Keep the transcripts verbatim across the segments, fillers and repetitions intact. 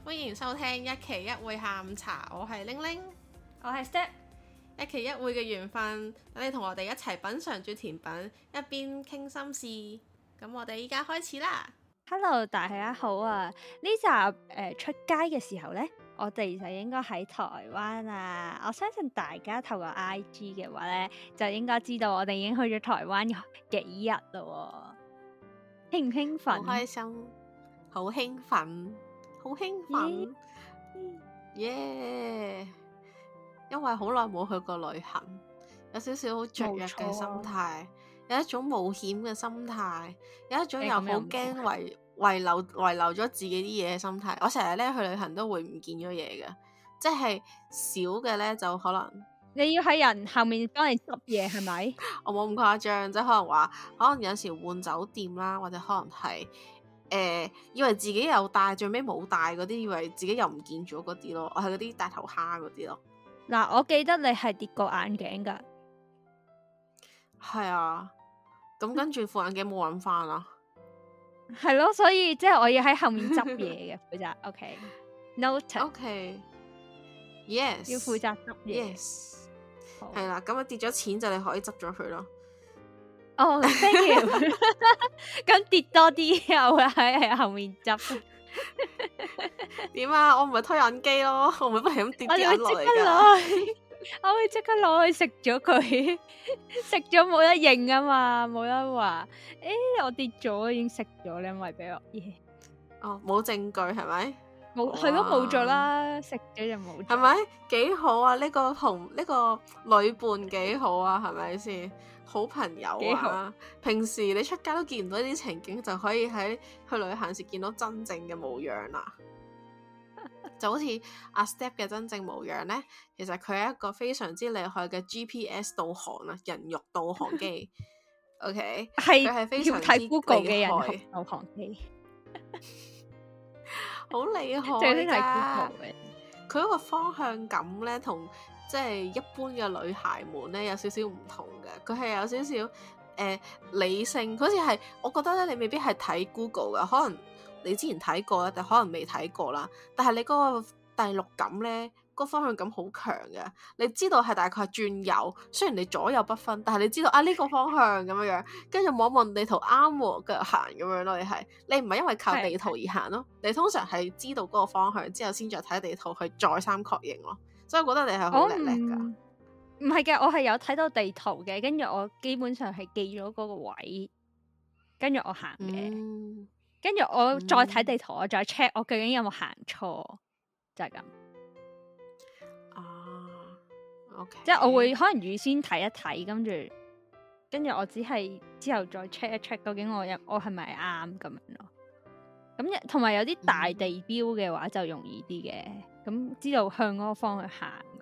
歡迎收聽一期一會下午茶，我係玲玲， 我係 Step， 一期一會嘅緣分，等你同我哋一齊品嚐住甜品，一邊傾心事。咁我哋依家開始啦。 Hello，大家好啊！呢集誒、呃、出街嘅時候呢，我哋就應該喺台灣啊！我相信大家透過 I G 嘅話呢，就應該知道我哋已經去咗台灣幾日咯喎，興唔興奮？ 好開心，好興奮，好興奮，耶！ Yeah. Yeah. 因為好耐冇去過旅行，有少少好雀躍嘅心態，有一種冒險嘅心態，有一種又好驚遺遺留遺留咗自己啲嘢嘅心態。我成日咧去旅行都會唔見咗嘢嘅，即係少嘅咧就可能你要喺人後面幫你執嘢係咪？ 我冇咁誇張，即係可能話可能有時換酒店啦，或者可能係誒、呃、以為自己有帶，最尾冇帶嗰啲，以為自己又唔見咗嗰啲咯。我係嗰啲大頭蝦嗰啲咯。 嗱，我記得你係跌過眼鏡噶， 係啊，咁跟住副眼鏡冇揾翻啦， 係咯，所以即係我要喺後面執嘢嘅負責。OK，noted。OK，yes， 要負責執嘢。 Yes， 係啦，咁啊跌咗錢就你可以執咗佢咯。 哦、oh，thank you。咁跌多啲，我會喺喺後面執。 點啊？我唔係推銀機咯，我唔係不停咁跌啲銀落嚟噶。 我會即刻攞去食咗佢，食咗冇得認啊嘛，冇得話誒、欸，我跌咗已經食咗，你因為俾我嘢。 哦，冇證據係咪？ 冇係咯，冇咗啦，食咗就冇。 係咪幾好啊？呢、這個同呢、這個旅伴幾好啊？係咪先？好朋友啊！平時你出街都見唔到呢啲情景，就可以喺去旅行時見到真正嘅模樣啦。就好似阿 Step 嘅真正模樣呢，其實佢係一個非常之厲害嘅 G P S 導航啊，人肉導航機。OK， 係佢係非常之睇 Google 嘅人厲害肉導航機， 好厲害㗎。 最識睇 Google 嘅， 佢嗰個方向感呢，同即係一般嘅女孩們呢，有少少唔同嘅。佢係有少少誒、呃、理性，好似係我覺得咧，你未必係睇 Google 㗎，可能。你之前睇過啦，但可能未睇過啦。但係你嗰個第六感呢，嗰個方向感好強嘅。你知道係大概係轉右，雖然你左右不分，但係你知道啊呢、呢個方向咁樣樣，跟住望望地圖啱喎，繼續行咁樣咯。你係你唔係因為靠地圖而行咯，你通常係知道嗰個方向之後，先再睇地圖去再三確認咯。所以我覺得你係好叻叻㗎。 唔係嘅，我係有睇到地圖嘅，跟住我基本上係記咗嗰個位，跟住我行嘅。嗯跟住我再睇地圖，嗯、我再 check 我究竟有冇行錯，就係、是、咁。 啊，OK， 即係我會可能預先睇一睇，跟住跟住我只係之後再 check 一 check 究竟我有我係咪啱咁樣咯。咁同埋有啲大地標嘅話就容易啲嘅，咁、嗯、知道向嗰個方向行咁。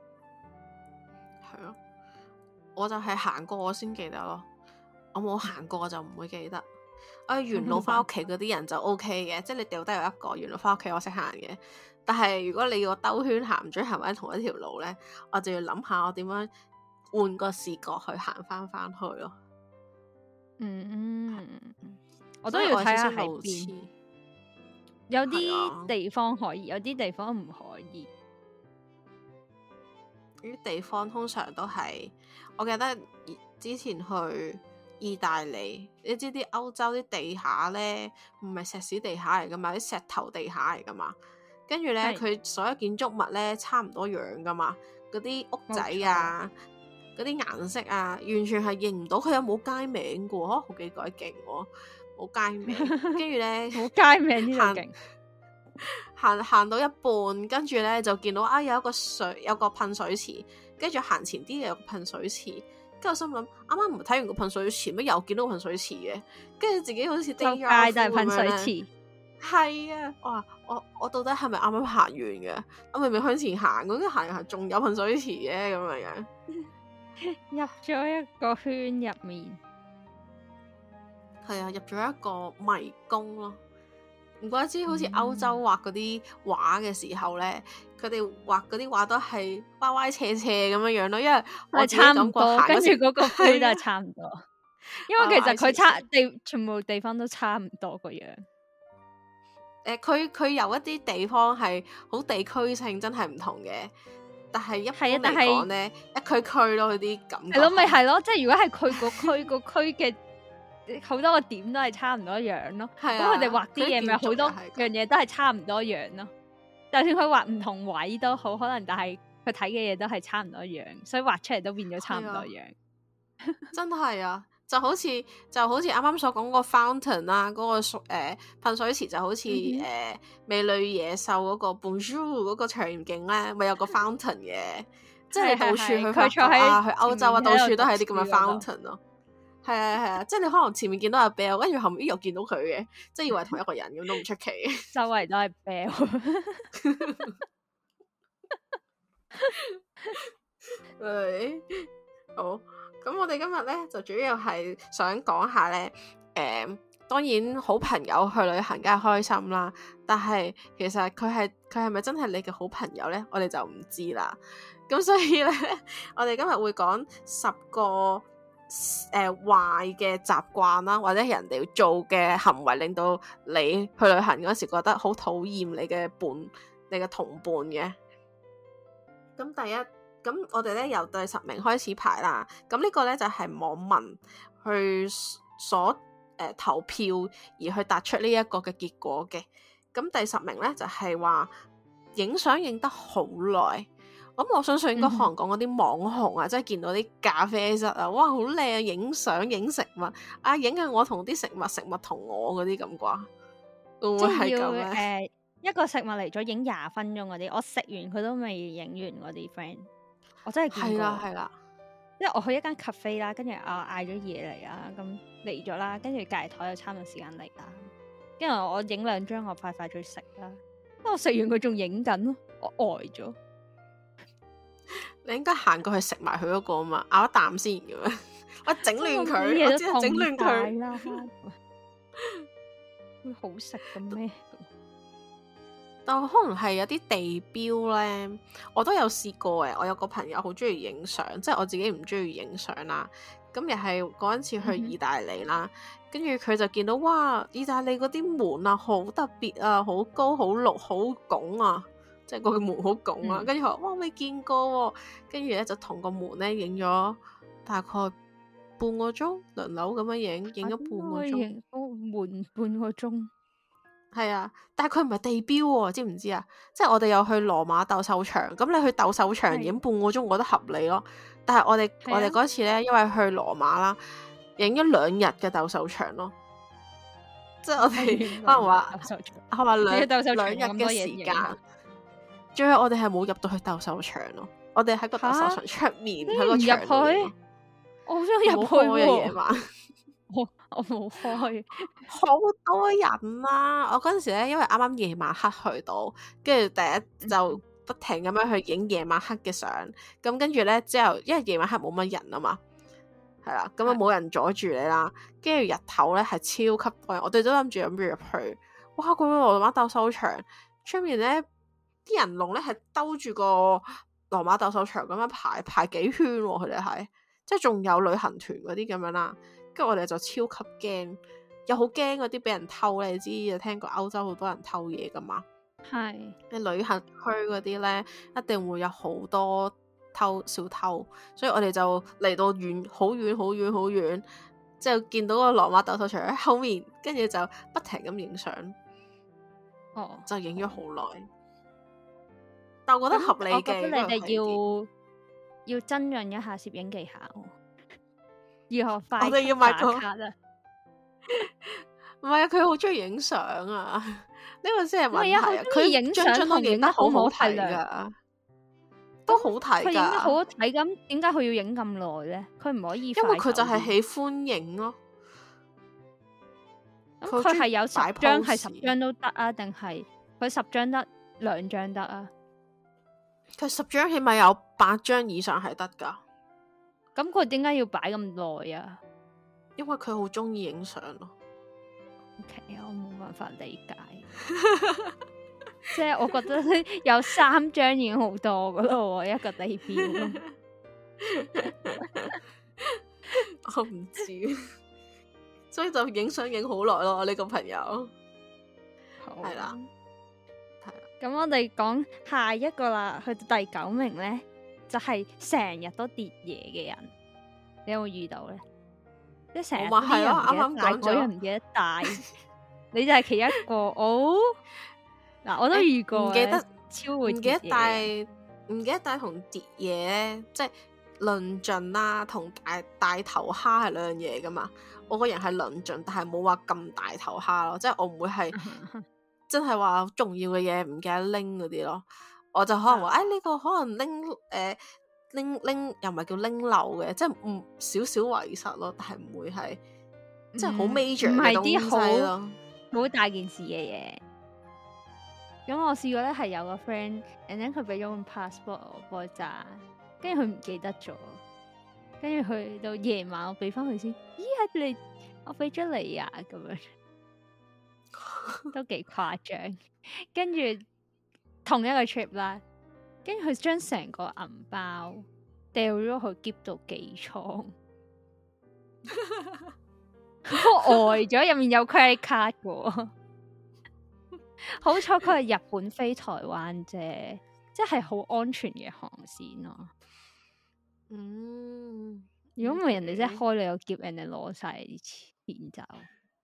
係咯，我就係行過我先記得咯，我冇行過我就唔會記得。我沿路翻屋企嗰啲人就 O K 嘅，即係你掉低有一個沿路翻屋企我識行嘅。但係如果你要我兜圈行唔准行喺同一條路咧，我就要諗下我點樣換個視角去行翻翻去咯。 嗯嗯，我都要睇下喺邊。有啲地方可以，有啲地方唔可以。 呢啲地方通常都係，我記得之前去意大利，你知啲歐洲啲地下咧，唔係石屎地下嚟噶嘛，啲石頭地下嚟噶嘛。跟住咧，佢所有建築物咧差唔多樣噶嘛，嗰啲屋仔啊，嗰啲顏色啊，完全係認唔到佢有冇街名噶喎，好幾鬼勁喎，冇街名。跟住咧， 冇街名呢度勁。 行行到一半，跟住咧就見到啊有一個水，有個噴水池，跟住行前啲有個噴水池。跟住我心諗，啱啱唔係睇完個噴水池咩？又見到個噴水池嘅，跟住自己好似跌咗街就係噴水池。 係啊，哇！我我到底係咪啱啱行完嘅？我明明向前行，咁行行仲有噴水池嘅咁樣樣， 入咗一個圈入面。 係啊，入咗一個迷宮咯。唔怪之好似歐洲畫嗰啲畫嘅時候咧，佢哋畫嗰啲畫都係歪歪斜斜咁樣樣咯，因為我差唔多，跟住嗰個區都係差唔多。因為其實佢差地全部地方都差唔多個樣。 誒佢佢有一啲地方係好地區性，真係唔同嘅。但係一般嚟講咧，一區區咯，嗰啲感覺係咯，咪係咯，即係如果係佢個區個區嘅好多個點都係差唔多樣咯。咁佢哋畫啲嘢咪好多樣嘢都係差唔多樣咯。就算佢畫唔同位都好，可能但係佢睇嘅嘢都係差唔多樣，所以畫出嚟都變咗差唔多樣。 真係啊！就好似就好似啱啱所講嗰個 fountain 啦，嗰、嗰個誒、呃、噴水池就好似誒、 嗯呃、美女野獸嗰個 Bonjour 嗰個場景咧，咪有個 fountain 嘅，即係到處去法國啊，去歐洲啊，到處都係啲咁嘅 fountain 咯。係啊係啊，即係你可能前面見到阿 Bell，跟住後面又見到佢嘅，即係以為同一個人咁都唔出奇。 周圍都係 Bell。 係好。咁我哋今日咧就主要係想講下咧，誒、呃，當然好朋友去旅行梗係開心啦，但係其實佢係佢係咪真係你嘅好朋友咧？我哋就唔知啦。咁所以咧，我哋今日會講十個誒壞嘅習慣啦，或者人哋做嘅行為，令到你去旅行嗰時覺得好討厭你嘅伴、你嘅同伴嘅。咁第一。咁我哋咧由第十名開始排啦，咁呢個咧就係、是、網民去所誒、呃、投票而去達出呢一個嘅結果嘅。咁第十名咧就係話影相影得好耐，咁我相信應該可能講嗰啲網紅啊，嗯、即係見到啲咖啡室啊，哇好靚，影相影食物啊，影下我同啲食物，食物同我嗰啲咁啩，會唔會係咁咧？ 誒，一個食物嚟咗影廿分鐘嗰啲，我食完佢都未影完嗰啲 friend。我真係見過， 係啦係啦， 因為我去一間 cafe 啦，跟住我嗌咗嘢嚟啦，咁嚟咗啦，跟住隔籬台又差唔多時間嚟啦，跟住我影兩張，我快快脆食啦，我食完佢仲影緊咯，我呆咗。 你應該行過去食埋佢嗰個啊嘛，咬一啖先咁樣，我整亂佢，我知係整亂佢啦， 會好食嘅咩？ 但可能係有啲地標咧，我都有試過嘅。我有個朋友好中意影相，即係我自己唔中意影相啦。咁又係嗰陣次去意大利啦，跟住佢就見到哇，意大利嗰啲門啊，好特別啊，好高、好綠、好拱啊，即係個門好拱啊。跟住佢話哇，未見過喎、啊，跟住咧就同個門咧影咗大概半個鐘，輪流咁樣影，影咗半個鐘， 門半個鐘。 係啊，但係佢唔係地標喎、哦，知唔知啊？即係我哋有去羅馬鬥獸場，咁你去鬥獸場影半個鐘，我覺得合理咯。但係我哋、啊、我哋嗰次咧，因為去羅馬啦，影咗兩日嘅鬥獸場咯。即係我哋可能話，係話兩兩日嘅時間。最後我哋係冇入到去鬥獸場咯，我哋喺個鬥獸場出面喺個場度。 我好想入去喎， 夜晚。 我我冇開， 好多人啦、啊！我嗰陣時咧，因為啱啱夜晚黑去到，跟住第一就不停咁樣去影夜晚黑嘅相。咁跟住咧之後，因為夜晚黑冇乜人啊嘛，係啦，咁啊冇人阻住你啦。跟住日頭咧係超級多人，我哋都諗住諗住入去。哇！嗰個羅馬鬥獸場出面咧，啲人龍咧係兜住個羅馬鬥獸場咁樣排排幾圈、啊，佢哋係即係仲有旅行團嗰啲咁樣啦。跟住我哋就超級驚，又好驚嗰啲俾人偷咧。你知有聽過歐洲好多人偷嘢噶嘛？ 係你旅行區嗰啲咧，一定會有好多偷小偷，所以我哋就嚟到遠好遠好遠好遠，之後見到個羅馬鬥獸場喺後面，跟住就不停咁影相。 哦， 就影咗好耐，但我覺得合理嘅。 我覺得你哋要要增潤一下攝影技巧。如何快？ 我哋要買個卡啊！ 唔係啊，佢好中意影相啊！呢個先係問題啊！ 佢影相張都影得好好睇噶，都好睇噶。 佢影得好好睇，咁點解佢要影咁耐咧？佢唔可以快？ 因為佢就係喜歡影咯。 咁佢係有十張係十張都得啊？定係佢十張得兩張得啊？ 佢十張起碼有八張以上係得噶。 咁佢點解要擺咁耐啊？ 因為佢好中意影相咯。 OK，我冇辦法理解。即係我覺得有三張已經好多噶咯，一個地標。 我唔知，所以就影相影好耐咯。我呢個朋友， 好， 係啦，係啦。 咁我哋講下一個啦，去到第九名咧，就係成日都跌嘢嘅人，你有冇遇到咧？即係成日我咪係咯，啱啱帶， 講嗰人唔記得帶，你就係其一個。哦，嗱，我都遇過， 唔記得超會唔記得帶，唔記得帶同跌嘢咧，即係論盡啦，同大大頭蝦係兩樣嘢噶嘛。我個人係論盡，但係冇話咁大頭蝦咯，即係我唔會係真係話重要嘅嘢唔記得拎嗰啲咯。我就可能話，誒呢個可能拎誒拎拎又唔係叫拎漏嘅，即係唔少少遺失咯，但係唔會係即係好 major 嘅東西咯， 好大件事嘅嘢。咁我試過咧，係有個 friend，and then 佢俾咗本 passport 我幫佢揸，跟住佢唔記得咗，跟住去到夜晚我俾翻佢先，咦係你我俾咗你啊，咁樣都幾誇張。跟住同一個 trip 啦，跟住佢將成個銀包掉咗去篋度寄倉，我呆咗，入面有 credit card 嘅。好彩佢係日本飛台灣啫，即係好安全嘅航線咯。 嗯， 如果唔係人哋真係開你個篋，人哋攞晒啲錢走，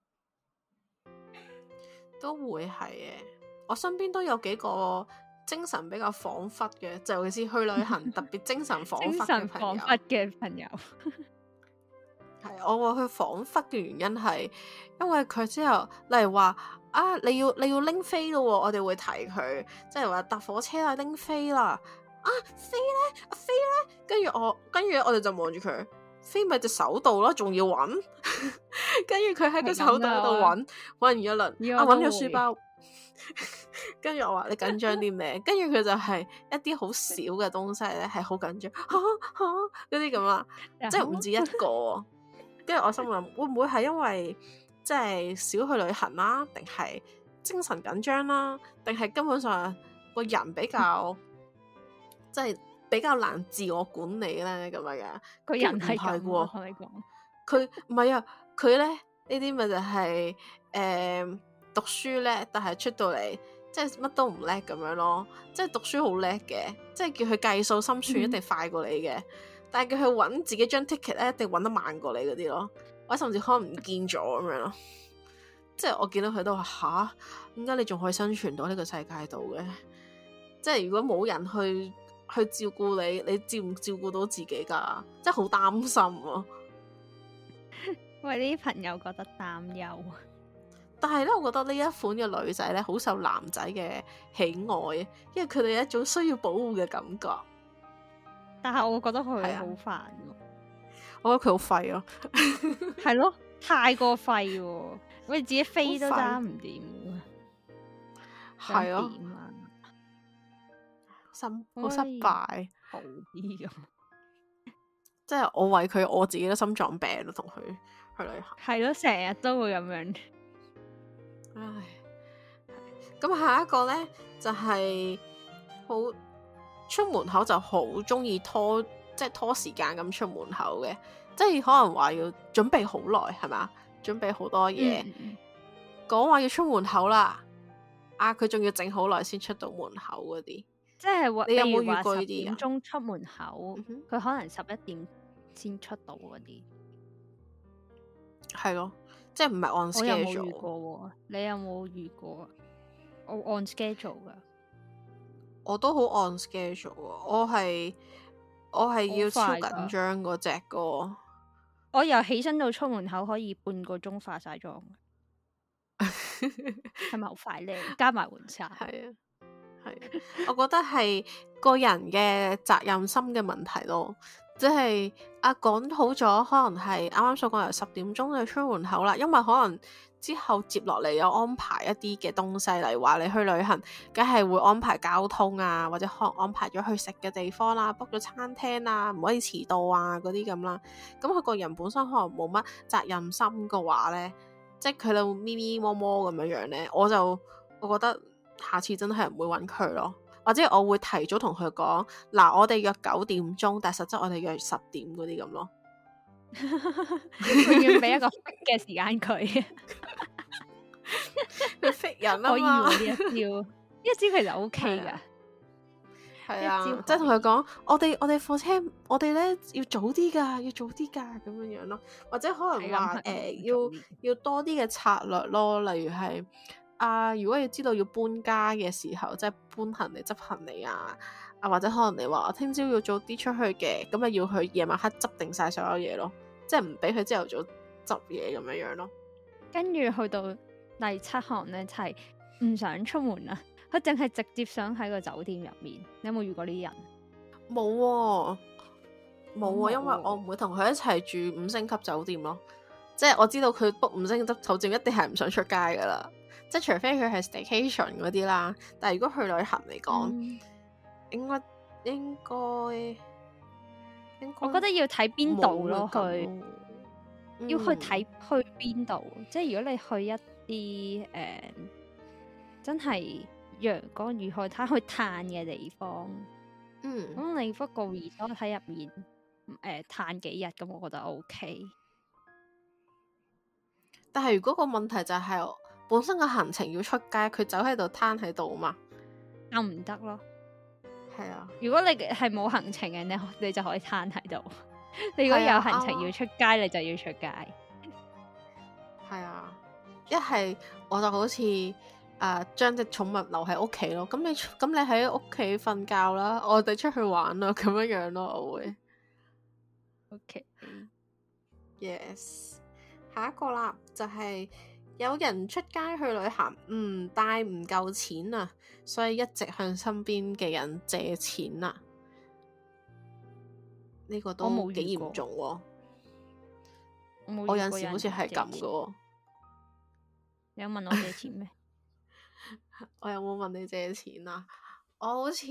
都會係嘅。我身邊都有幾個精神比較恍惚嘅，就尤其是去旅行特別精神恍惚嘅朋友。 精神恍惚嘅朋友。 係，我話佢恍惚嘅原因係，因為佢之後，例如話啊，你要你要拎飛咯，我哋會提佢，即係話搭火車啊，拎飛啦，啊飛咧，啊飛咧，跟住我，跟住我哋就望住佢，飛咪隻手度咯，仲要揾，跟住佢喺個手袋度揾，揾完一輪，啊揾咗書包，跟住我話你緊張啲咩？跟住佢就係一啲好少嘅東西咧，係好緊張，嚇嚇嗰啲咁啊，即係唔止一個。跟住我心諗，會唔會係因為即係少去旅行啦，定係精神緊張啦，定係根本上個人比較即係比較難自我管理咧咁樣嘅？ 個人係咁喎，我同你講， 佢唔係啊，佢咧呢啲咪就係、是、誒、呃、讀書叻，但係出到嚟即係乜都唔叻咁樣咯。即係讀書好叻嘅，即係叫佢計數心算一定快過你嘅。嗯，但係佢去揾自己張 ticket 咧，一定揾得慢過你嗰啲咯，或者甚至可能唔見咗咁樣咯。即係我見到佢都話吓，點解你仲可以生存到呢個世界度嘅？即係如果冇人去去照顧你，你照唔照顧到自己噶？即係好擔心啊！ 為呢啲朋友覺得擔憂。 但係咧，我覺得呢一款嘅女仔咧，好受男仔嘅喜愛，因為佢哋有一種需要保護嘅感覺。 但係我覺得佢好煩咯， 我覺得佢好廢咯， 係咯，太過廢喎，我哋自己飛都揸唔掂， 係咯， 點啊？ 心好失敗， 好啲咁， 即係我為佢，我自己都心臟病咯，同佢去旅行， 係咯，成日都會咁樣。 唉，咁下一個咧就係、是、好。出門口就好中意拖，即係拖時間咁出門口嘅，即係可能話要準備好耐，係嘛？準備好多嘢，講話、嗯、要出門口啦，啊佢仲要整好耐先出到門口嗰啲，即係你有冇遇過呢啲？ 十點鐘出門口，佢、嗯、可能十一點先出到嗰啲， 係咯，即係唔係按 schedule。我有冇遇過？你有冇遇過？我按 schedule 噶。 我都好按 schedule，我係我係要超緊張嗰隻個。 我由起身到出門口可以半個鐘化晒妝，係咪好快咧？加埋換衫， 係啊，係。我覺得係個人嘅責任心嘅問題咯，即係啊講好咗，可能係啱啱所講由十點鐘就出門口啦，因為可能。之後接落嚟有安排一啲嘅東西，例如話你去旅行，梗係會安排交通啊，或者可能安排咗去食嘅地方啦，book 咗餐廳啊，唔可以遲到啊嗰啲咁啦。咁佢個人本身可能冇乜責任心嘅話咧，即係佢喺度咪咪摸摸咁樣樣咧，我就我覺得下次真係唔會揾佢咯，或者我會提早同佢講，嗱我哋約九點鐘，但係實質我哋約十點嗰啲咁咯。 佢要俾一個嘅時間佢， 佢 fit 人啊可以嘛。 喎呢一招，呢一招其實 O K 噶。 係啊， 一招即係同佢講，我哋我哋貨車，我哋咧要早啲㗎，要早啲㗎咁樣樣咯，或者可能話誒、呃、要要多啲嘅策略咯，例如係啊，如果要知道要搬家嘅時候，即係搬行李、執行李啊，啊或者可能你話我聽朝要早啲出去嘅，咁啊要去夜晚黑執定晒所有嘢咯，即係唔俾佢朝頭早執嘢咁樣樣咯。 跟住去到第七項咧，就係、是、唔想出門啊。佢淨係直接想喺個酒店入面。你有冇遇過呢啲人？ 冇喎，冇喎， 冇因為我唔會同佢一齊住五星級酒店咯。即係我知道佢 book 五星級酒店一定係唔想出街噶啦。即係除非佢係 staycation 嗰啲啦，但係如果去旅行嚟講、嗯，應該應該應該， 我覺得要睇邊度咯，去、 嗯、 要去睇去邊度。即係如果你去一啲誒、呃、真係陽光與海灘去嘆嘅地方，嗯，咁你 book 個 resort 喺入面誒嘆幾日，咁我覺得 OK。 但係如果個問題就係、是、本身個行程要出街，佢走喺度攤喺度嘛， 咁唔得咯。 係啊， 如果你係冇行程嘅，你你就可以攤喺度。你如果有行程要出街，啊、你就要出街。 係啊，一係我就好似誒將隻寵物留喺屋企咯。咁你咁你喺屋企瞓覺啦，我哋出去玩啦，咁樣樣咯，我會。OK，yes。下一個啦，就係、是、有人出街去旅行，唔帶唔夠錢啊，所以一直向身邊嘅人借錢啊。呢、這個都幾嚴重喎。我，我有陣時好似係咁噶。 你有問我借錢咩？ 我有冇問你借錢啊？我好似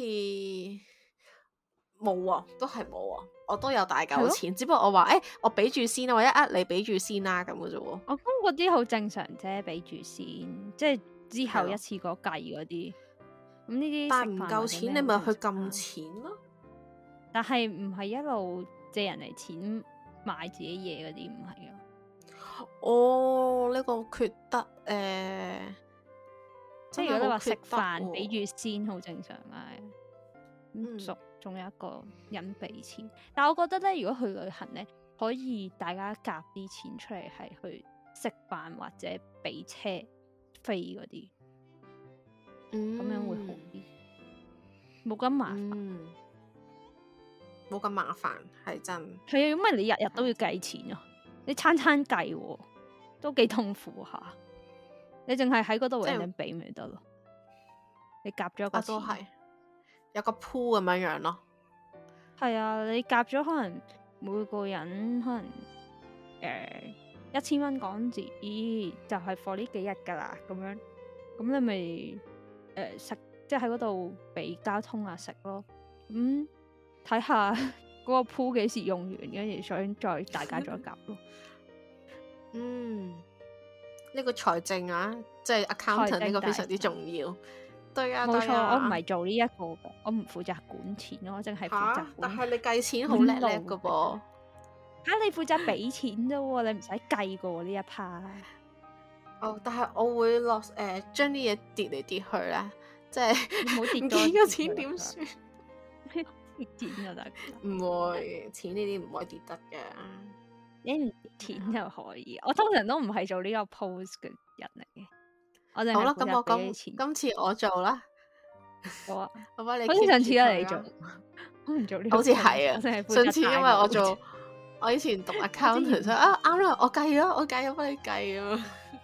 冇啊，都係冇啊。我都有大嚿錢，只不過我話誒、欸，我俾住先啊，或者呃你俾住先啦咁嘅啫喎。 我覺得嗰啲好正常啫，俾住先，即係之後一次過計嗰啲。咁呢啲但係唔夠錢，你咪去撳錢咯。 但係唔係一路借人嚟錢買自己嘢嗰啲，唔係啊。 哦，呢、這個缺德誒，呃、 即係如果你話食飯俾住先，好正常啊。咁仲仲有一個人俾錢，但係我覺得咧，如果去旅行咧，可以大家夾啲錢出嚟，係去食飯或者俾車飛嗰啲，咁、嗯、樣會好啲，冇咁麻煩， 冇咁、嗯、麻煩係真。 係啊，因為你日日都要計錢啊，你餐餐計、啊，都幾痛苦下。你淨係喺嗰度搵人俾咪得咯，你夾咗個錢。啊有個 pool 咁樣樣咯， 係啊，你夾咗可能每個人可能誒一千蚊港紙，就係 for 呢幾日噶啦，咁樣咁你咪誒食，即係喺嗰度俾交通啊食咯，咁睇下嗰個 pool 幾時用完，跟住想再大家再夾咯。 嗯，呢、這個財政啊，即係 accountant 呢個非常之重要。對啊，冇錯， 我唔係做呢一個嘅，我唔負責管錢咯，我淨係負責管。 但係你計錢好叻叻噶噃， 吓你負責俾錢啫喎，你唔使計噶呢一 part。 哦，但係我會落誒，將啲嘢跌嚟跌去咧，即係唔好跌咗個錢點算？ 跌錢就得， 唔會錢呢啲唔可以跌得嘅， 你唔跌錢就可以。我通常都唔係做呢個 pose 嘅人嚟嘅。好啦， 咁我今今次我做啦， 好啊， 我幫你。 好似上次都你做，我唔做呢個。 好似係啊，上次因為我做，我以前讀 accountant，所以啊啱啦，我計咗，我計咗幫你計啊。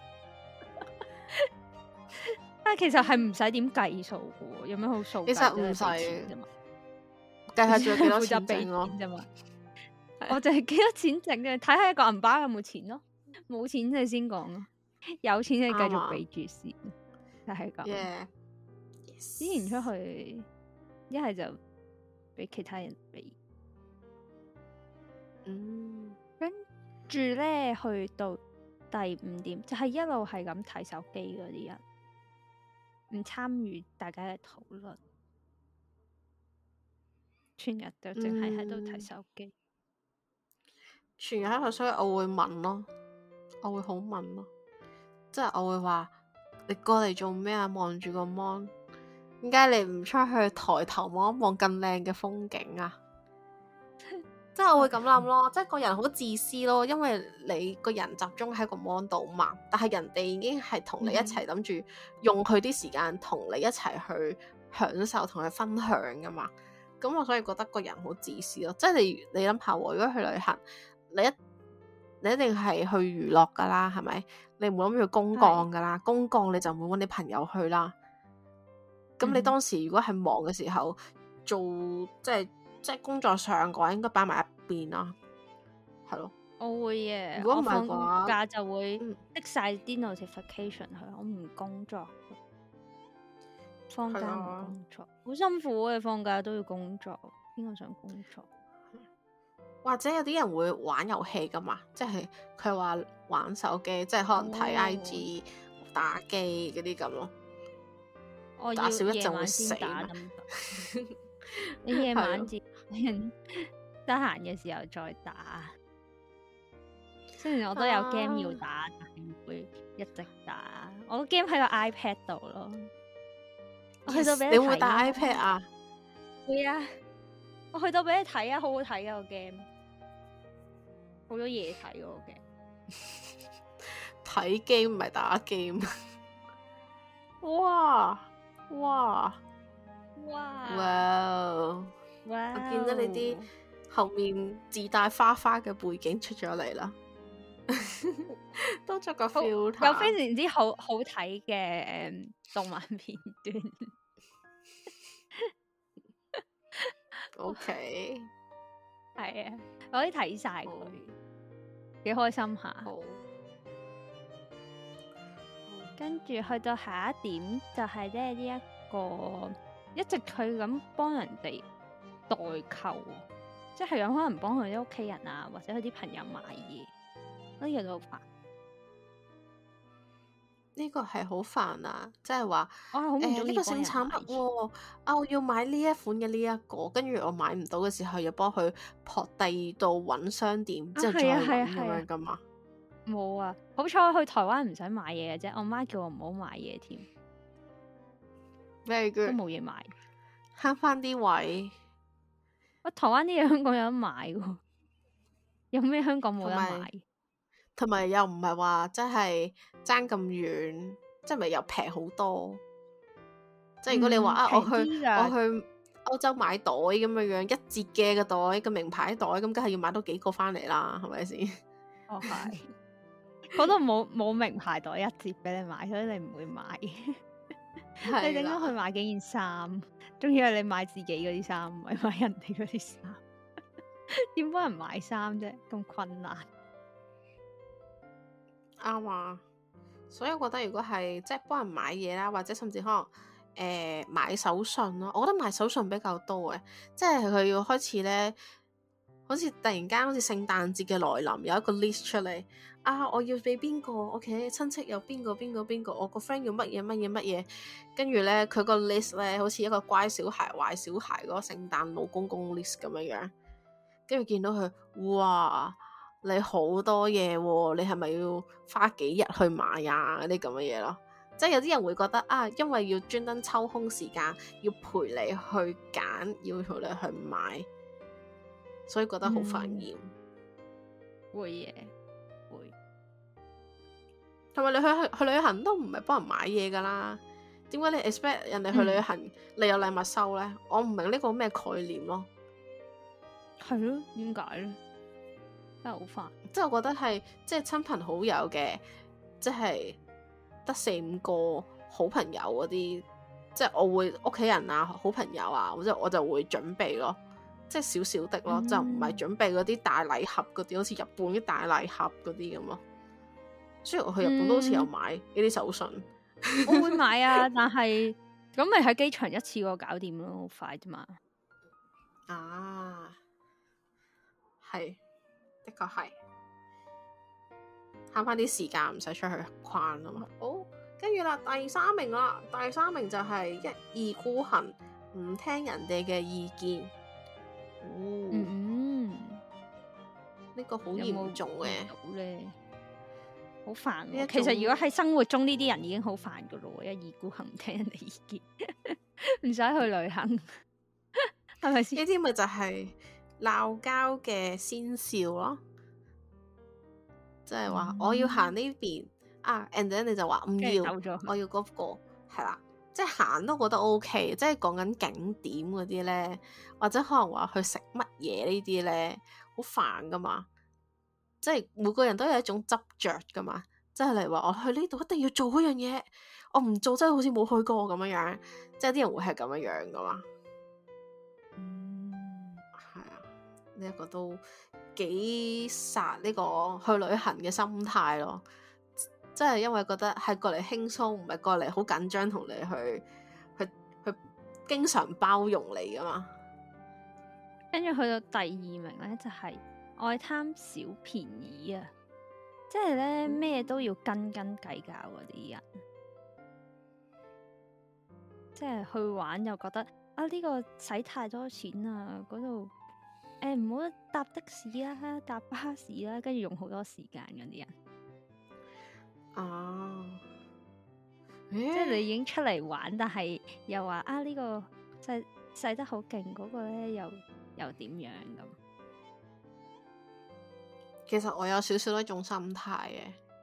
但係其實係唔使點計數嘅，有咩好數？ 其實唔使計下仲有幾多錢剩咯啫嘛。我就係幾多錢剩嘅，睇下一個銀包有冇錢咯，冇錢你先講咯。有錢你繼續俾住先，就係咁。 Yeah. 之前出去一係就俾其他人俾， 嗯， 跟住咧去到第五點就係、是、一路係咁睇手機嗰啲人，唔參與大家嘅討論，全日就淨係喺度睇手機， 全日喺度，所以我會問咯，我會好問咯。即係我會話你過嚟做咩啊？望住個 mon，點解你唔出去抬頭望一望更靚嘅風景啊？即係我會咁諗咯，即係個人好自私咯，因為你個人集中喺個 mon 度嘛，但係人哋已經係同你一齊諗住用佢啲時間同你一齊去享受同佢分享噶嘛，咁我所以覺得個人好自私咯，即係你你諗下，如果去旅行，你一你一定係去娛樂噶啦，係咪？你唔會諗住公幹噶啦，公幹你就唔會搵你朋友去啦。咁你當時如果係忙嘅時候，做即係。即係工作上嘅話，應該擺埋一邊啦，係咯。 我會嘅， 如果唔係我嘅話， 放假就會嗯剔晒啲 notification 去，我唔工作。放假唔工作，好、啊、辛苦嘅。放假都要工作，邊個想工作？ 或者有啲人會玩遊戲噶嘛，即係佢話玩手機，即係可能睇 I G、哦、打機嗰啲咁咯。 我打少一陣會先死。 你夜晚自得閒嘅時候再打，雖然我都有 game 要打，啊、但係唔會一直打。我個 game 喺個 iPad 度咯。Yes, 我去到俾你睇， 你會打 iPad 啊？ 會啊！我去到俾你睇啊，好好睇啊個 game，好多嘢睇個 game。 睇 game 唔係打 game。哇哇！哇！哇！ 哇！ 我見到你啲後面自帶花花嘅背景出咗嚟啦，都作個 filter， 有非常之好好睇嘅誒動漫片段。 OK， 係啊，我可以睇晒佢，幾開心下。 好， 跟住去到下一點就係咧呢一個。一直佢咁幫人哋代購，即係有可能幫佢啲屋企人啊，或者佢啲朋友買嘢，呢樣都好煩。 呢個係好煩啊！即係話， 我係好唔中意誒呢個新產品喎，啊我要買呢一款嘅呢一個，跟住我買唔到嘅時候，又幫佢撲第二度揾商店，之後再揾咁樣噶嘛。 冇啊！好彩去台灣唔使買嘢嘅啫，我媽叫我唔好買嘢添。 Very good， 都冇嘢買， 慳翻啲位。 我台灣啲嘢香港有得買喎，有咩香港冇得買？ 同埋又唔係話真係爭咁遠，即係咪又平好多？即係如果你話、嗯、啊，我去我去歐洲買袋咁樣樣，一折嘅個袋個名牌袋，咁梗係要買多幾個翻嚟啦，係咪先？ 哦係，嗰度冇冇名牌袋一折俾你買，所以你唔會買。你點解去買幾件衫？仲要係你買自己嗰啲衫，唔係買人哋嗰啲衫？點幫人買衫啫？咁困難。 啱啊！所以我覺得如果係即係幫人買嘢啦，或者甚至可能誒、呃、買手信咯，我覺得買手信比較多嘅，即係佢要開始咧，好似突然間好似聖誕節嘅來臨，有一個 list 出嚟。啊！我要俾邊個？我屋企親戚有邊個邊個邊個？我個 friend 要乜嘢乜嘢乜嘢？跟住咧，佢個 list 咧，好似一個乖小孩、壞小孩嗰個聖誕老公公 list 咁樣樣。跟住見到佢，哇！你好多嘢喎、啊，你係咪要花幾日去買啊？嗰啲咁嘅嘢咯。即係有啲人會覺得啊，因為要專登抽空時間，要陪你去揀，要陪你去買，所以覺得好煩厭。 嗯、會嘅。 同埋你去去去旅行都唔係幫人買嘢噶啦，點解你 expect 人哋去旅行、嗯、你有禮物收咧？我唔明呢個咩概念咯。 係咯，點解咧？真係好煩。 即係我覺得係即係親朋好友嘅，即係得四五個好朋友嗰啲，即係我會屋企人啊、好朋友啊，或者我就會準備咯，即係少少的咯，嗯、就唔係準備嗰啲大禮盒嗰啲，好似日本啲大禮盒嗰啲咁咯。雖然我去日本都好似有買呢啲手信、嗯， 我會買啊，但係咁咪喺機場一次過搞掂咯，好快啫嘛。 啊，係，的確係慳翻啲時間，唔使出去逛啊嘛。好，跟住啦，第三名啦，第三名就係一意孤行，唔聽人哋嘅意見。哦、嗯，呢、這個好嚴重嘅。 好煩喎。 呢一種其實如果喺生活中呢啲人已經好煩噶咯，一意孤行唔聽人哋意見，唔使去旅行，係咪先？ 呢啲咪就係鬧交嘅先兆咯，即係話我要行呢邊啊 ，and then 你就話唔要，我要嗰、嗰個係啦，即係行都覺得 OK，即係講緊景點嗰啲咧，或者可能話去食乜嘢呢啲咧，好煩噶嘛，即係每個人都有一種執着噶嘛，即係例如話我去呢度一定要做嗰樣嘢，我唔做真係好似冇去過咁樣樣，即係啲人會係咁樣樣噶嘛。呢一個都幾殺呢個去旅行嘅心態咯，即係因為覺得係過嚟輕鬆，唔係過嚟好緊張同你去去去經常包容你噶嘛。 跟住去到第二名咧，就係、是、愛貪小便宜啊，即係咧咩都要斤斤計較嗰啲人，即係去玩又覺得啊呢、這個使太多錢啊，嗰度。誒，唔好搭的士啦，搭巴士啦，跟住用好多時間嗰啲人。 哦， 即係你已經出嚟玩，但係又話啊呢、這個使使得好勁，嗰、那個咧又又點樣咁？ 其實我有少少一種心態嘅，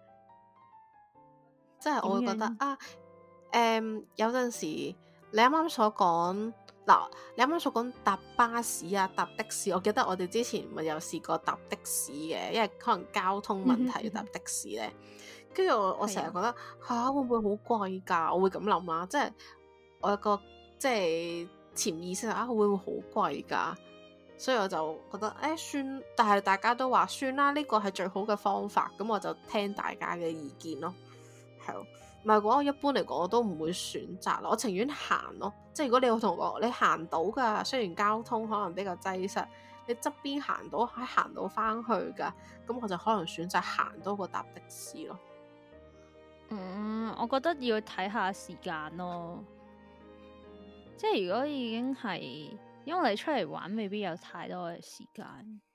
即係我會覺得啊，誒、嗯，有陣時你啱啱所講。嗱，你啱啱所講搭巴士啊，搭的士，我記得我哋之前咪有試過搭的士嘅，因為可能交通問題要搭的士咧。跟住我我成日覺得嚇、啊、會唔會好貴㗎？我會咁諗啊，即係我有個即係潛意識啊，會唔會好貴㗎？所以我就覺得誒、欸、算，但係大家都話算啦，呢個係最好嘅方法，咁我就聽大家嘅意見咯，係咯。唔係講，我一般嚟講我都唔會選擇咯，我情願行咯。即係如果你有同我，你行到噶，雖然交通可能比較擠塞，你側邊行到，可以行到翻去噶，咁我就可能選擇行多過搭的士咯。 嗯，我覺得要睇下時間咯。即係如果已經係，因為你出嚟玩，未必有太多嘅時間。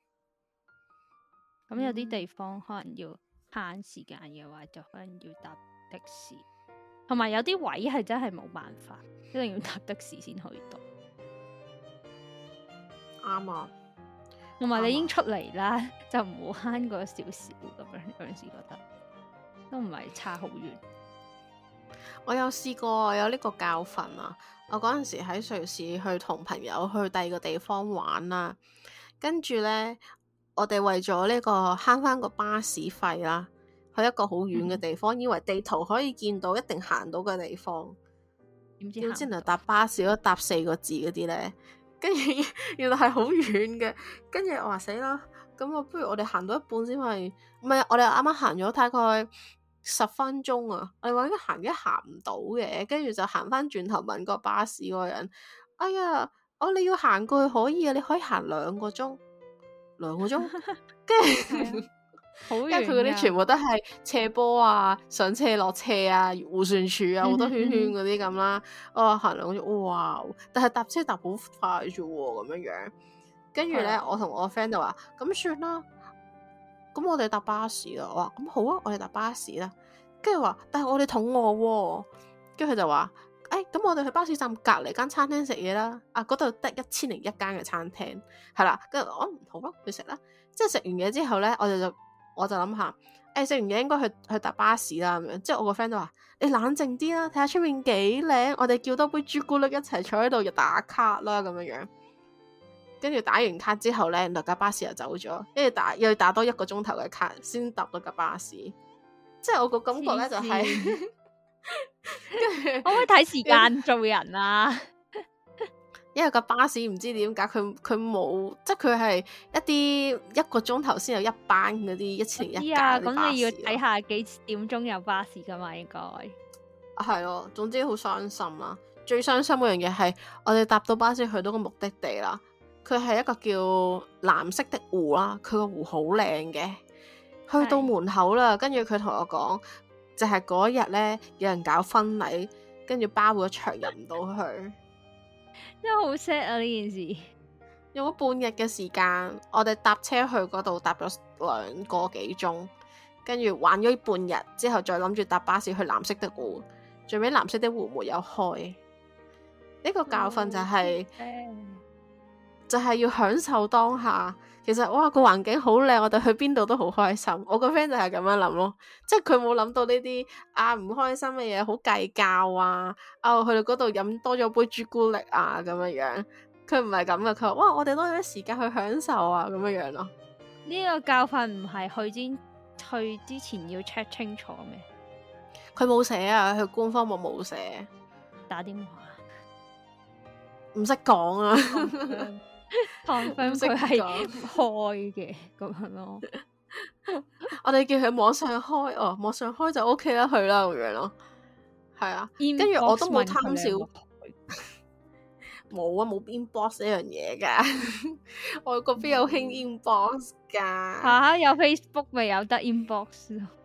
咁、嗯、有啲地方可能要慳時間嘅話，就可能要搭的士，同埋有啲位係真係冇辦法，一定要搭的士先去到。 啱啊， 同埋你已經出嚟啦，啊、就唔好慳嗰少少咁樣。有陣時覺得都唔係差好遠。 我有試過有呢個教訓啊！我嗰陣時喺瑞士去同朋友去第二個地方玩啦，跟住呢，我哋為咗呢個慳翻個巴士費啦。去一個好遠嘅地方，嗯、以為地圖可以見到一定行到嘅地方，點知點知原來搭巴士都搭四個字嗰啲咧，跟住原來係好遠嘅，跟住我話死啦，咁我不如我哋行到一半先係，唔係我哋啱啱行咗大概十分鐘啊，我哋話應該行一行唔到嘅，跟住就行翻轉頭問個巴士嗰個人，哎呀，哦你要行過去可以啊，你可以行兩個鐘，兩個鐘，跟住。因為佢嗰啲全部都係斜坡啊、上車落車啊、迴旋處啊，好多圈圈嗰啲咁啦。我話行兩個鐘，哇！但係搭車搭好快啫喎，咁樣樣。跟住咧，的我同我 friend 就話：咁算啦，咁我哋搭巴士啦。我話：咁好啊，我哋搭巴士啦。跟住話，但係我哋肚餓喎。跟住佢就話：誒、欸，咁我哋去巴士站隔離間餐廳食嘢啦。啊，嗰度得一千零一間嘅餐廳，係啦。跟住我唔好咯，去食啦。即係食完嘢之後咧，我哋就。我就諗下，誒、欸、食完嘢應該去去搭巴士啦咁樣，即係我個 friend 都話：你冷靜啲啦，睇下出面幾靚，我哋叫多杯朱古力一齊坐喺度就打卡啦咁樣樣。跟住打完卡之後咧，那架巴士又走咗，跟住打又要打多一個鐘頭嘅卡先搭到架巴士。即係我個感覺咧就係、是，跟住可唔可以睇時間做人啊？ 因為個巴士唔知點解佢佢冇，即係佢係一啲一個鐘頭先有一班嗰啲一千零一架嗰啲巴士。咁你要睇下幾點鐘有巴士噶嘛？應該係咯，總之好傷心啦。最傷心嗰樣嘢係我哋搭到巴士去到個目的地啦，佢係一個叫藍色的湖啦，佢個湖好靚嘅。去到門口啦，跟住佢同我講，就係嗰日咧有人搞婚禮，跟住包咗場入唔到去。 真係好 sad 啊！呢件事用咗半日嘅時間，我哋搭車去嗰度搭咗兩個幾鐘， 跟住玩咗半日之後，再諗住搭巴士去藍色的湖，最尾藍色的湖沒有開。呢、這個教訓就係、是嗯、就係要享受當下。其實哇，個環境好靚，我哋去邊度都好開心。我個 friend 就係咁樣諗咯，即係佢冇諗到呢啲啊唔開心嘅嘢，好計較啊，啊去到嗰度飲多咗杯朱古力啊咁樣樣。佢唔係咁嘅，佢話哇，我哋多咗時間去享受啊咁樣樣咯。 呢個教訓唔係去之去之前要 check 清楚咩？ 佢冇寫啊，佢官方冇冇寫。 打電話唔識講啊。 confirm 佢係開嘅咁樣咯。 我哋叫佢網上開哦，網上開就 OK 啦，去啦咁樣咯。係啊，跟住我都冇貪小，冇啊，冇 inbox 呢樣嘢噶。外國邊有興 inbox 噶？ 吓、啊、有 Facebook 咪有得 inbox 咯。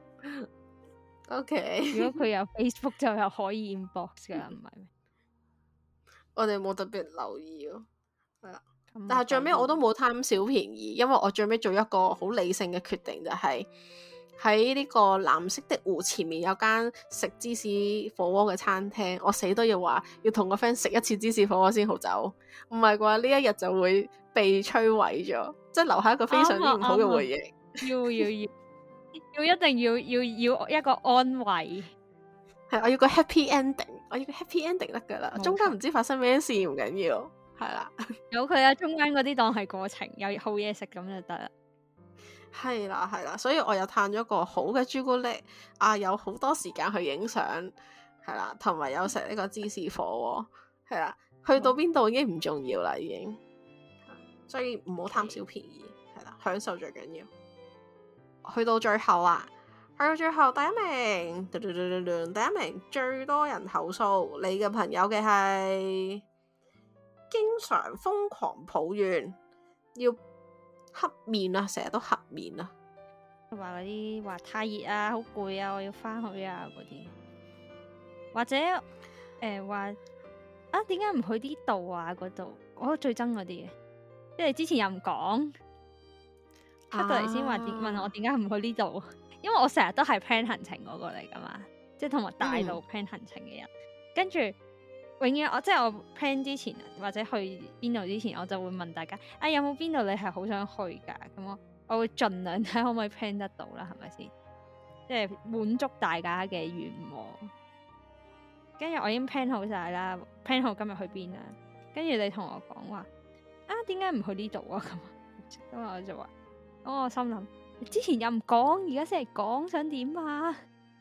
OK， 如果佢有 Facebook 就有可以 inbox 噶，唔係咩？ 我哋冇特別留意咯，係啦。但係最尾我都冇貪小便宜，因為我最尾做一個好理性嘅決定，就係喺呢個藍色的湖前面有間食芝士火鍋嘅餐廳，我死都要話要同個 friend 食一次芝士火鍋先好走，唔係嘅話呢一日就會被摧毀咗，即係留下一個非常之唔好嘅回憶。 要要要要一定要要要一個安慰， 係我要個 happy ending， 我要個 happy ending 得噶啦，中間唔知發生咩事唔緊要。係啦， 有佢啊，中間嗰啲當係過程，有好嘢食咁就得啦。 係啦係啦，所以我又嘆咗個好嘅朱古力啊，有好多時間去影相，係啦，同埋有食呢個芝士火鍋，係啦，去到邊度已經唔重要啦，已經，所以唔好貪小便宜，係啦，享受最緊要。去到最後啊，去到最後第一名，嘟嘟嘟嘟嘟第一名最多人投訴你嘅朋友嘅係。經常瘋狂抱怨要黑面啊，成日都黑面啊， 話嗰啲話太熱啊，好攰啊，我要翻去啊嗰啲，或者誒話、呃、啊點解唔去呢度啊嗰度，我最憎嗰啲嘅，即係之前又唔講，出到嚟先話點問我點解唔去呢度，因為我成日都係 plan 行程嗰個嚟噶嘛，即係同埋大路 plan 行程嘅人，跟住。永遠我即係我 plan 之前或者去邊度之前，我就會問大家啊，有冇邊度你係好想去㗎？咁我我會盡量睇可唔可以 plan 得到啦，係咪先？即係滿足大家嘅願望。跟住我已經 plan 好晒啦 ，plan 好今日去邊啦。跟住你同我講話啊，點解唔去呢度啊？咁咁我就話，咁我心諗之前又唔講，而家先嚟講，想點啊？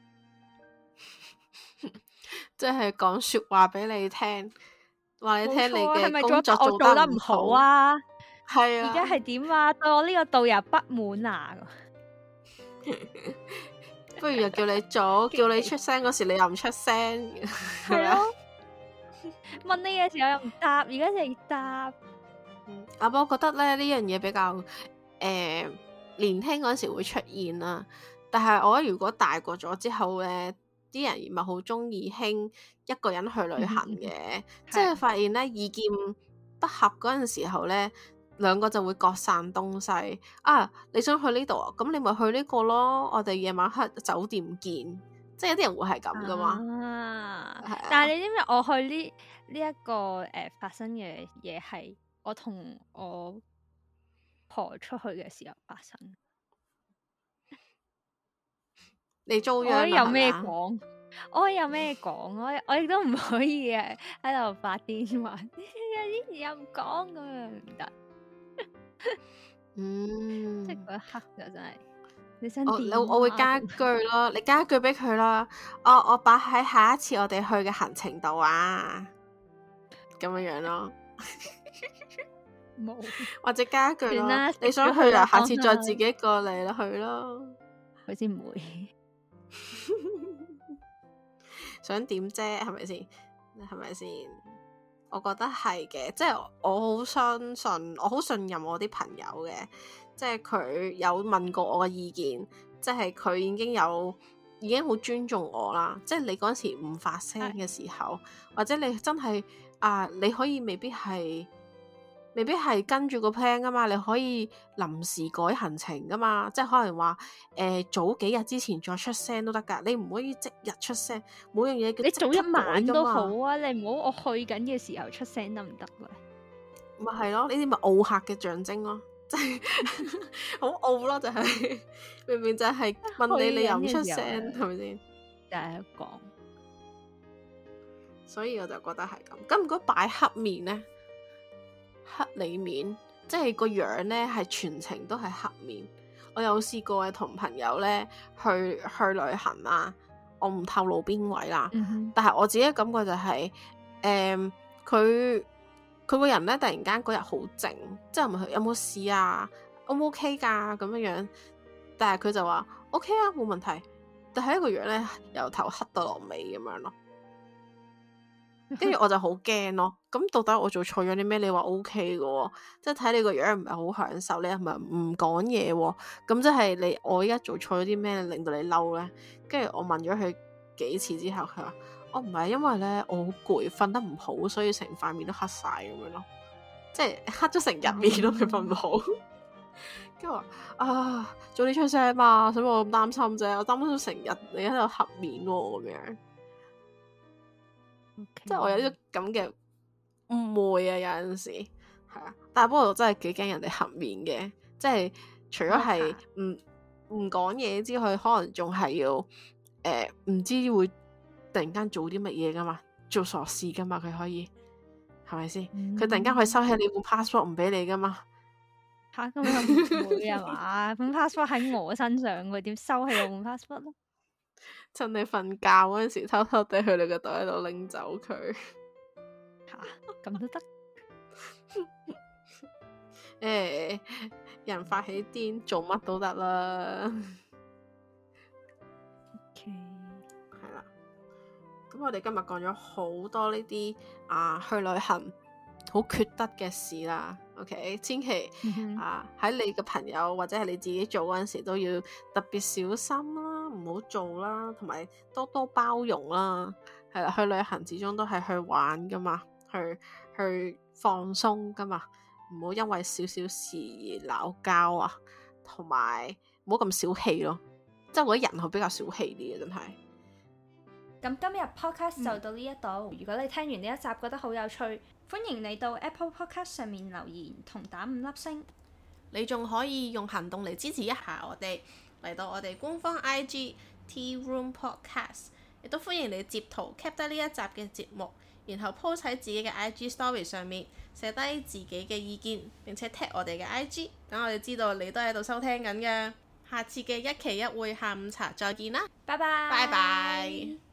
即係講說話俾你聽，話你聽你嘅工作做得唔好啊， 係啊， 而家係點啊？對我呢個導遊不滿啊， 不如又叫你做，叫你出聲嗰時你又唔出聲，係啊， 問你嘅時候又唔答，而家先答。 啊，不過我覺得咧呢樣嘢比較誒、呃、年輕嗰時會出現啦，但係我覺得如果大個咗之後咧。啲人咪好中意興一個人去旅行嘅，即係發現咧意見不合嗰陣時候咧，兩個就會各散東西。啊，你想去呢度啊？咁你咪去呢個咯。我哋夜晚黑酒店見，即係有啲人會係咁噶嘛。 啊啊、但係你知唔知我去呢呢一個誒、呃、發生嘅嘢係我同我婆出去嘅時候發生。 你遭殃啦， 我有咩講？我有咩講？我我亦都唔可以誒喺度發癲話，有啲又唔講咁樣唔得。 嗯， 即係嗰一刻就真係，你想點？ 我我會加一句咯，你加一句俾佢啦。我我擺喺下一次我哋去嘅行程度啊，咁樣樣咯。 冇， 或者加一句咯，你想去啊？下次再自己過嚟啦，去咯。 佢先唔會。 想點啫？係咪先？係咪先？我覺得係嘅，即係我好相信，我好信任我啲朋友嘅，即係佢有問過我嘅意見，即係佢已經有已經好尊重我啦。即係你嗰時唔發聲嘅時候，或者你真係啊，你可以未必係。 未必係跟住個 plan 噶嘛，你可以臨時改行程噶嘛，即係可能話誒、呃、早幾日之前再出聲都得㗎，你唔可以即日出聲，每樣嘢你早一晚都好啊， 你唔好我去緊嘅時候出聲得唔得咧？ 咪係咯，呢啲咪傲客嘅象徵咯，即係好傲咯，就係、是、明明就係問你你又唔出聲，係咪先？ 就係講， 所以我就覺得係咁。咁如果擺黑面咧，黑你面，即係個樣咧係全程都係黑面。我有試過係同朋友咧去去旅行啦，我唔透露邊位啦， 嗯、哼但係我自己嘅感覺就係、是，誒、嗯，佢佢個人咧突然間嗰日好靜，即係問佢有冇事啊，O 唔 OK 噶咁樣樣，但係佢就話 OK 啊，冇問題。但係一個樣咧，由頭黑到落尾咁樣咯，跟住我就好驚咯。咁到底我做錯咗啲咩？你話 O K 嘅，即係睇你個樣唔係好享受，你係咪唔講嘢？咁即係你我依家做錯咗啲咩令到你嬲咧？跟住我問咗佢幾次之後，佢話我唔係因為咧我好攰，瞓得唔好，所以成塊面都黑晒咁樣咯，即係黑咗成日面咯，佢瞓唔好。跟住話啊，早啲出聲嘛，所以我咁擔心啫，我擔心成日你喺度黑面喎咁樣，okay. 即係我有呢種咁嘅誤會啊，有陣時係啊，但係不過我真係幾驚人哋黑面嘅，即係除咗係唔唔講嘢之外，可能仲係要誒唔、呃、知會突然間做啲乜嘢噶嘛，做傻事噶嘛，佢可以係咪先？佢、嗯、突然間可以收起你本 passport 唔俾你噶嘛？ 吓，咁又唔會啊嘛？本 passport 喺我身上，佢點收起我本 passport 咯？ 趁你瞓覺嗰陣時，偷偷地去你個袋度拎走佢。 吓，咁都得？ 誒，人發起癲，做乜都得啦。 OK， 係啦。咁我哋今日講咗好多呢啲啊，去旅行好缺德嘅事啦。OK，千祈、嗯、啊喺你嘅朋友或者係你自己做嗰陣時都要特別小心啦，唔好做啦，同埋多多包容啦。係啦，去旅行始終都係去玩噶嘛，去去放鬆噶嘛，唔好因為少少事而鬧交啊，同埋唔好咁小氣咯。即係我覺得人係比較小氣啲嘅，真係。 咁今日 podcast 就到呢一度。嗯、如果你聽完呢一集覺得好有趣，歡迎你到 Apple Podcast 上面留言同打五粒星。 你仲可以用行動嚟支持一下我哋，嚟到我哋官方 I G Tea Room Podcast， 亦都歡迎你截圖 cap 低呢一集嘅節目，然後 post 喺自己嘅 I G Story 上面寫低自己嘅意見，並且 tag 我哋嘅 I G， 等我哋知道你都喺度收聽緊嘅。下次嘅一期一會下午茶再見啦， 拜拜， 拜拜。